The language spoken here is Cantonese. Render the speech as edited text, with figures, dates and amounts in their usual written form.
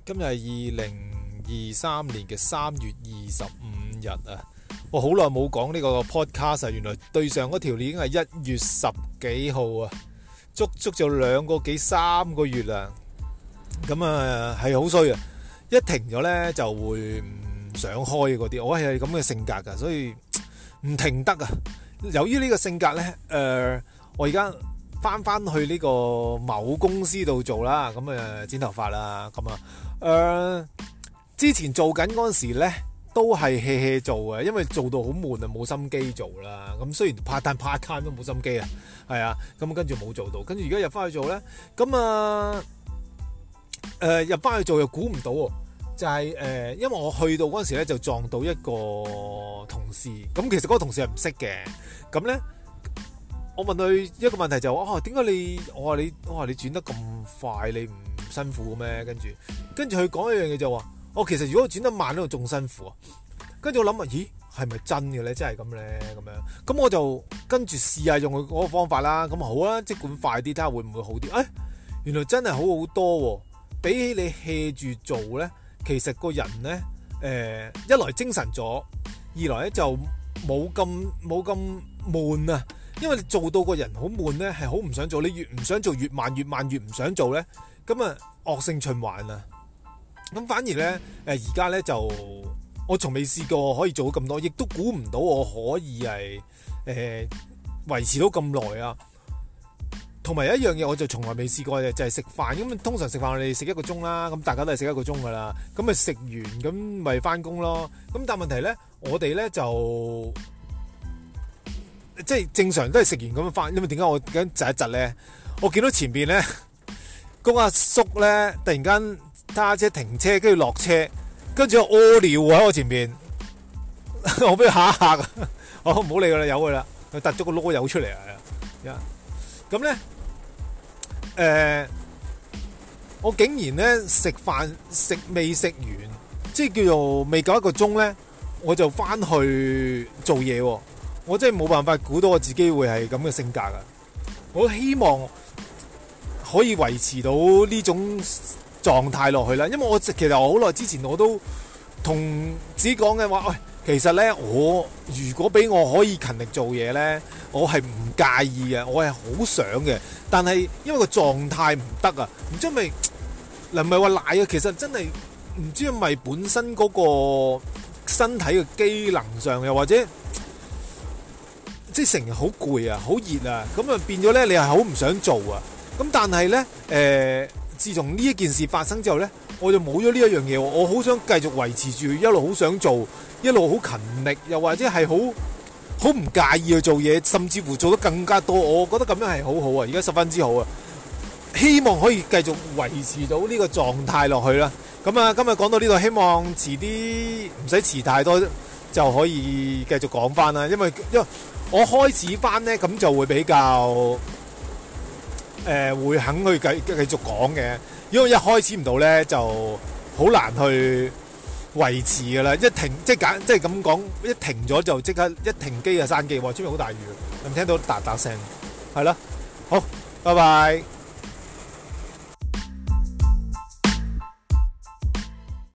今日係2023年嘅3月25日啊！我好耐冇講呢個 podcast 啊，原來對上嗰條已經係1月10幾號啊，足足就2個幾3個月啦。咁啊係好衰啊！一停咗呢就會唔想開嗰啲，我係咁嘅性格噶，所以唔停得啊！由於呢個性格呢，我而家翻去呢個某公司度做啦，咁剪頭髮啦，咁之前做緊嗰陣時咧，都係 hea 做嘅，因為做到好悶啊，冇心機做啦。咁雖然 part time 都冇心機啊，係啊，咁跟住冇做到，跟住而家入翻去做咧，咁入翻去做又估唔到喎，就係因為我去到嗰陣時咧就撞到一個同事，咁其實嗰個同事係唔識嘅，咁咧。我問佢一個問題就話，點解我話你轉得咁快，你唔辛苦咩？跟住佢講一樣嘢就話，其實如果我轉得慢咧，仲辛苦啊。跟住我諗啊，咦，係咪真嘅咧？真係咁咧？咁樣，咁我就跟住試下用佢嗰個方法啦。咁好啦，即管快啲，睇下會唔會好啲？原來真係好好多喎。比起你 hea 住做咧，其實個人咧，一來精神咗，二來咧就冇咁悶啊。因為你做到個人好悶咧，係好唔想做。你越唔想做，越慢越唔想做咧，咁啊惡性循環啊。咁反而咧，而家咧就我從未試過可以做到咁多，亦都估唔到我可以係維持到咁耐啊。同埋有一樣嘢，我就從來未試過嘅，就係食飯。咁通常食飯我哋食1個鐘啦，咁大家都係食1個鐘噶啦。咁咪食完咁咪翻工咯。咁但係問題咧，我哋咧就。即係正常都係食完咁樣翻，因為點解我咁窒一窒咧？我見到前邊咧，嗰阿叔咧突然間揸車停車，跟住落車，跟住屙尿喺我前邊，我俾佢嚇一嚇，我唔好理佢啦，由佢啦，佢突咗個籮柚出嚟啊！咁咧，我竟然咧食飯未食完，即係叫做未夠1個鐘咧，我就翻去做嘢喎。我真係冇辦法估到我自己會係咁嘅性格啊！我希望可以維持到呢種狀態落去啦，因為其實我好耐之前我都同自己講嘅話，其實呢，我如果俾我可以勤力做嘢呢，我係唔介意嘅，我係好想嘅，但係因為個狀態唔得啊，唔知係咪唔係話賴啊，其實真係唔知係咪本身嗰個身體嘅機能上，又或者。即係成日好攰啊，好熱啊，咁啊變咗咧，你係好唔想做啊。咁但係咧，自從呢一件事發生之後咧，我就冇咗呢一樣嘢。我好想繼續維持住，一路好想做，一路好勤力，又或者係好唔介意去做嘢，甚至乎做得更加多。我覺得咁樣係好好啊，而家十分之好啊。希望可以繼續維持到呢個狀態落去啦。咁啊，今日講到呢度，希望遲啲唔使遲太多就可以繼續講翻啦。因為我開始翻呢，咁就會比較會肯去繼續講嘅。如果一開始唔到呢，就好難去維持噶啦。一停即係咁講，一停咗就即刻一停機就閂機喎。出面好大雨，有冇聽到嗒嗒聲？係啦，好，拜拜。